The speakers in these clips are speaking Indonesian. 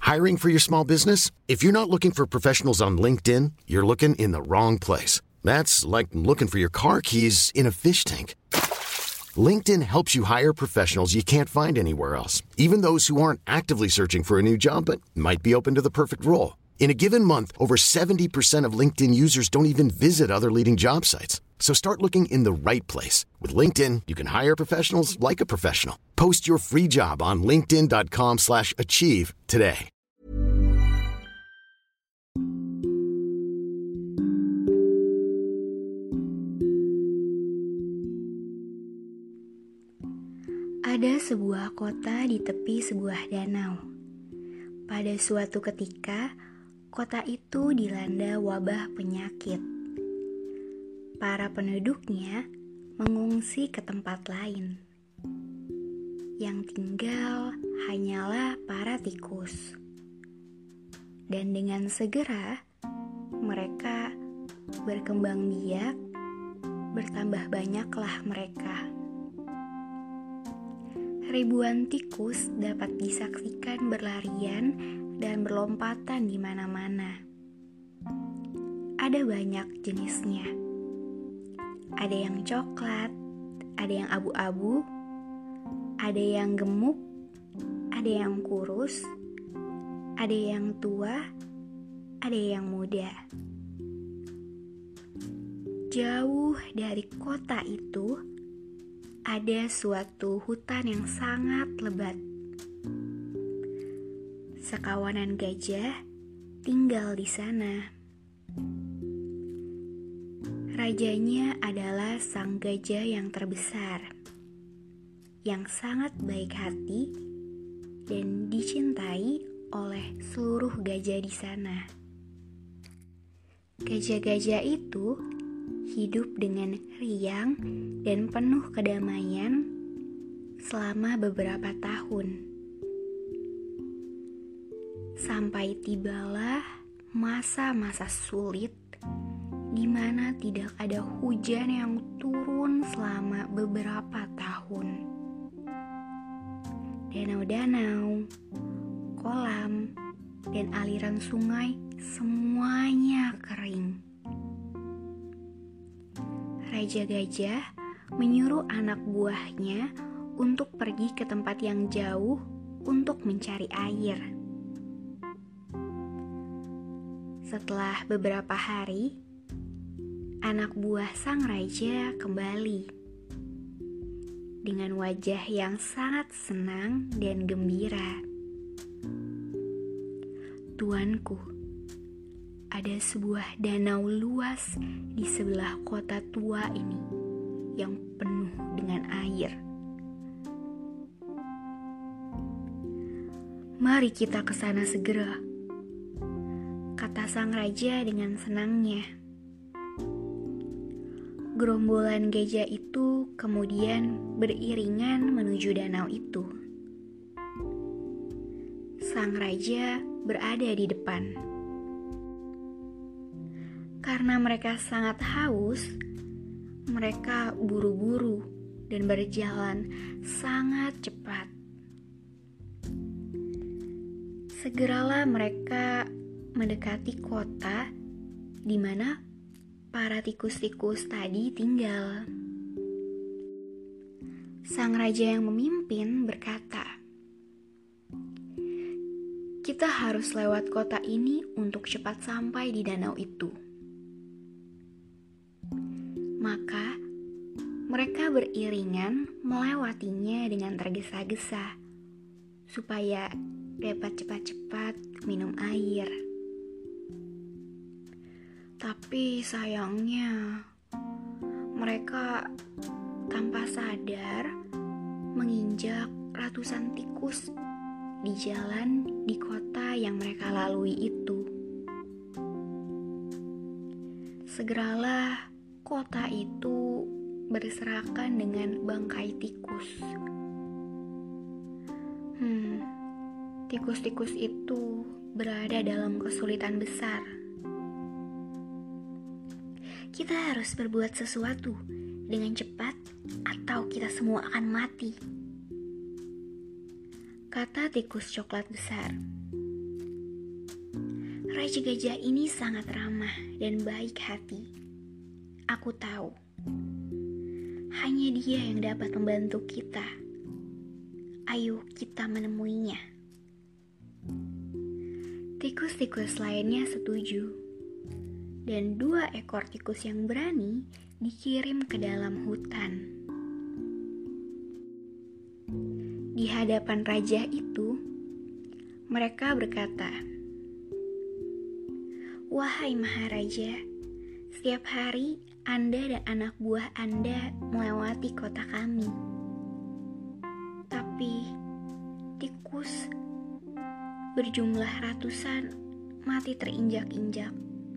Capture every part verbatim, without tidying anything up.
Hiring for your small business? If you're not looking for professionals on LinkedIn, you're looking in the wrong place. That's like looking for your car keys in a fish tank. LinkedIn helps you hire professionals you can't find anywhere else, even those who aren't actively searching for a new job but might be open to the perfect role. In a given month, over seventy percent of LinkedIn users don't even visit other leading job sites. So start looking in the right place. With LinkedIn, you can hire professionals like a professional. Post your free job on linkedin.com slash achieve today. Ada sebuah kota di tepi sebuah danau. Pada suatu ketika, kota itu dilanda wabah penyakit. Para penduduknya mengungsi ke tempat lain. Yang tinggal hanyalah para tikus. Dan dengan segera, mereka berkembang biak, bertambah banyaklah mereka. Ribuan tikus dapat disaksikan berlarian dan berlompatan di mana-mana. Ada banyak jenisnya. Ada yang coklat, ada yang abu-abu, ada yang gemuk, ada yang kurus, ada yang tua, ada yang muda. Jauh dari kota itu, ada suatu hutan yang sangat lebat. Sekawanan gajah tinggal di sana. Rajanya adalah sang gajah yang terbesar, yang sangat baik hati dan dicintai oleh seluruh gajah di sana. Gajah-gajah itu hidup dengan riang dan penuh kedamaian selama beberapa tahun. Sampai tibalah masa-masa sulit di mana tidak ada hujan yang turun selama beberapa tahun. Danau-danau, kolam, dan aliran sungai semuanya kering. Raja Gajah menyuruh anak buahnya untuk pergi ke tempat yang jauh untuk mencari air. Setelah beberapa hari, anak buah sang raja kembali dengan wajah yang sangat senang dan gembira. Tuanku, ada sebuah danau luas di sebelah kota tua ini yang penuh dengan air. Mari kita ke sana segera, kata sang raja dengan senangnya. Gerombolan gajah itu kemudian beriringan menuju danau itu. Sang raja berada di depan. Karena mereka sangat haus, mereka buru-buru dan berjalan sangat cepat. Segeralah mereka mendekati kota di mana para tikus-tikus tadi tinggal. Sang raja yang memimpin berkata, "Kita harus lewat kota ini untuk cepat sampai di danau itu." Maka mereka beriringan melewatinya dengan tergesa-gesa supaya dapat cepat-cepat minum air. Tapi sayangnya mereka tanpa sadar menginjak ratusan tikus di jalan di kota yang mereka lalui itu. Segeralah kota itu berserakan dengan bangkai tikus. Hmm, tikus-tikus itu berada dalam kesulitan besar. Kita harus berbuat sesuatu dengan cepat atau kita semua akan mati, kata tikus coklat besar. Raja gajah ini sangat ramah dan baik hati. Aku tahu, hanya dia yang dapat membantu kita. Ayo kita menemuinya. Tikus-tikus lainnya setuju, dan dua ekor tikus yang berani dikirim ke dalam hutan. Di hadapan raja itu, mereka berkata, "Wahai Maharaja, setiap hari Anda dan anak buah Anda melewati kota kami. Tapi tikus berjumlah ratusan mati terinjak-injak.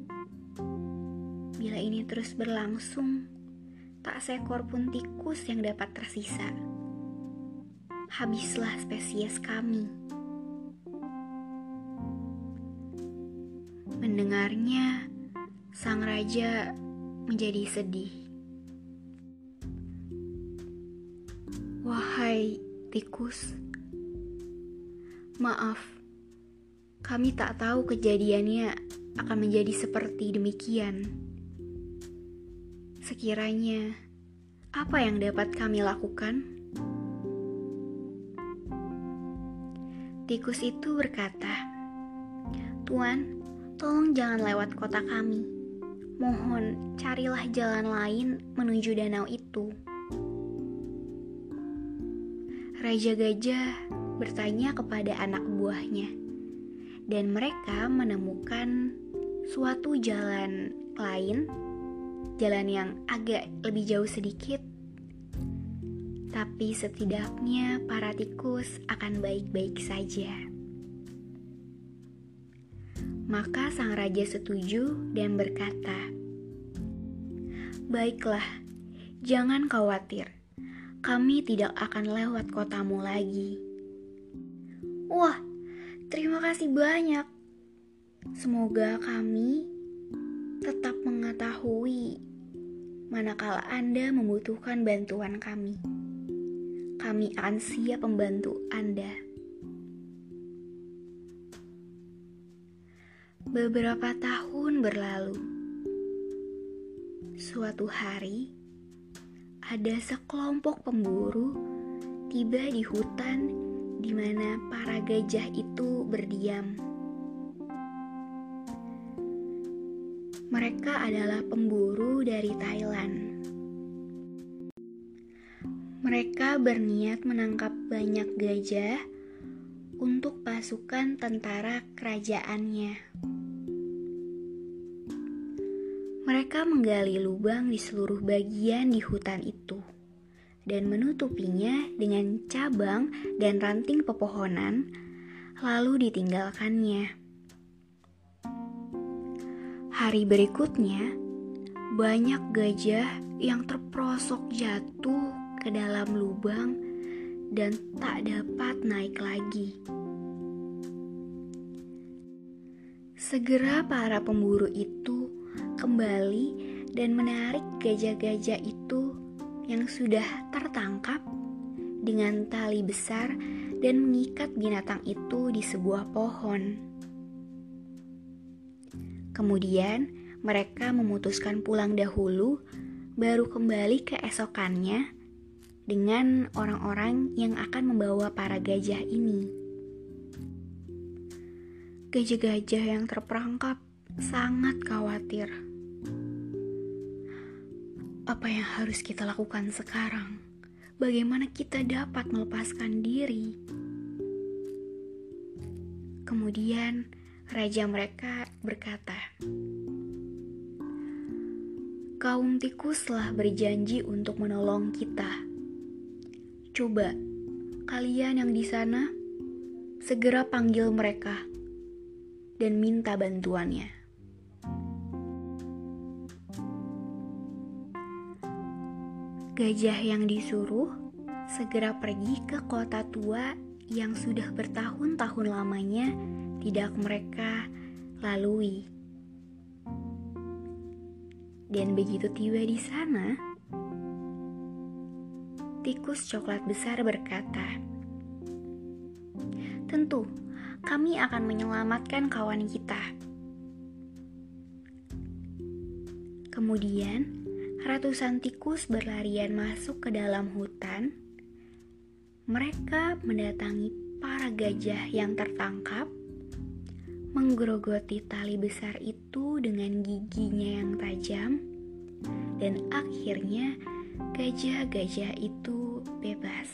Bila ini terus berlangsung, tak seekor pun tikus yang dapat tersisa. Habislah spesies kami." Mendengarnya, sang raja menjadi sedih. "Wahai tikus, maaf, kami tak tahu kejadiannya akan menjadi seperti demikian. Sekiranya, apa yang dapat kami lakukan?" Tikus itu berkata, "Tuan, tolong jangan lewat kota kami. Mohon carilah jalan lain menuju danau itu." Raja gajah bertanya kepada anak buahnya, dan mereka menemukan suatu jalan lain, jalan yang agak lebih jauh sedikit, tapi setidaknya para tikus akan baik-baik saja. Maka sang raja setuju dan berkata, "Baiklah, jangan khawatir, kami tidak akan lewat kotamu lagi." "Wah, terima kasih banyak. Semoga kami tetap mengetahui manakala Anda membutuhkan bantuan kami. Kami akan siap membantu Anda." Beberapa tahun berlalu. Suatu hari, ada sekelompok pemburu tiba di hutan di mana para gajah itu berdiam. Mereka adalah pemburu dari Thailand. Mereka berniat menangkap banyak gajah untuk pasukan tentara kerajaannya. Mereka menggali lubang di seluruh bagian di hutan itu dan menutupinya dengan cabang dan ranting pepohonan, lalu ditinggalkannya. Hari berikutnya, banyak gajah yang terperosok jatuh ke dalam lubang dan tak dapat naik lagi. Segera para pemburu itu kembali dan menarik gajah-gajah itu yang sudah tertangkap dengan tali besar dan mengikat binatang itu di sebuah pohon. Kemudian mereka memutuskan pulang dahulu, baru kembali keesokannya dengan orang-orang yang akan membawa para gajah ini. Gajah-gajah yang terperangkap sangat khawatir. Apa yang harus kita lakukan sekarang? Bagaimana kita dapat melepaskan diri? Kemudian raja mereka berkata, "Kaum tikuslah berjanji untuk menolong kita. Coba kalian yang di sana segera panggil mereka dan minta bantuannya." Gajah yang disuruh segera pergi ke kota tua yang sudah bertahun-tahun lamanya tidak mereka lalui. Dan begitu tiba di sana, tikus coklat besar berkata, "Tentu, kami akan menyelamatkan kawan kita. Kemudian, ratusan tikus berlarian masuk ke dalam hutan. Mereka mendatangi para gajah yang tertangkap, menggerogoti tali besar itu dengan giginya yang tajam, dan akhirnya gajah-gajah itu bebas.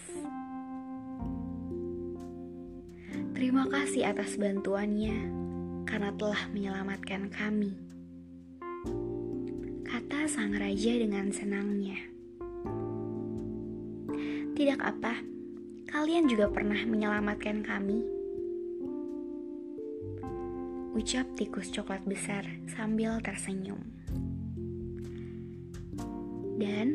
Terima kasih atas bantuannya, karena telah menyelamatkan kami, kata sang raja dengan senangnya. Tidak apa, kalian juga pernah menyelamatkan kami, ucap tikus coklat besar sambil tersenyum. Dan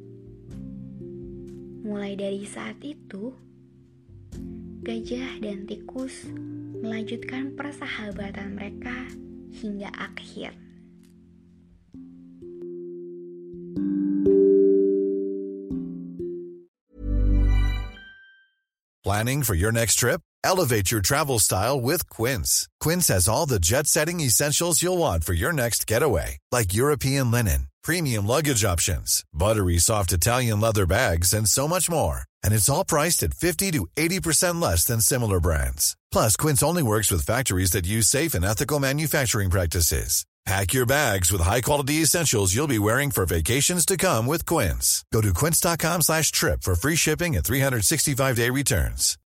mulai dari saat itu, gajah dan tikus melanjutkan persahabatan mereka hingga akhir. Planning for your next trip? Elevate your travel style with Quince. Quince has all the jet-setting essentials you'll want for your next getaway, like European linen, premium luggage options, buttery soft Italian leather bags, and so much more. And it's all priced at fifty to eighty percent less than similar brands. Plus, Quince only works with factories that use safe and ethical manufacturing practices. Pack your bags with high-quality essentials you'll be wearing for vacations to come with Quince. Go to quince.com slash trip for free shipping and three sixty-five day returns.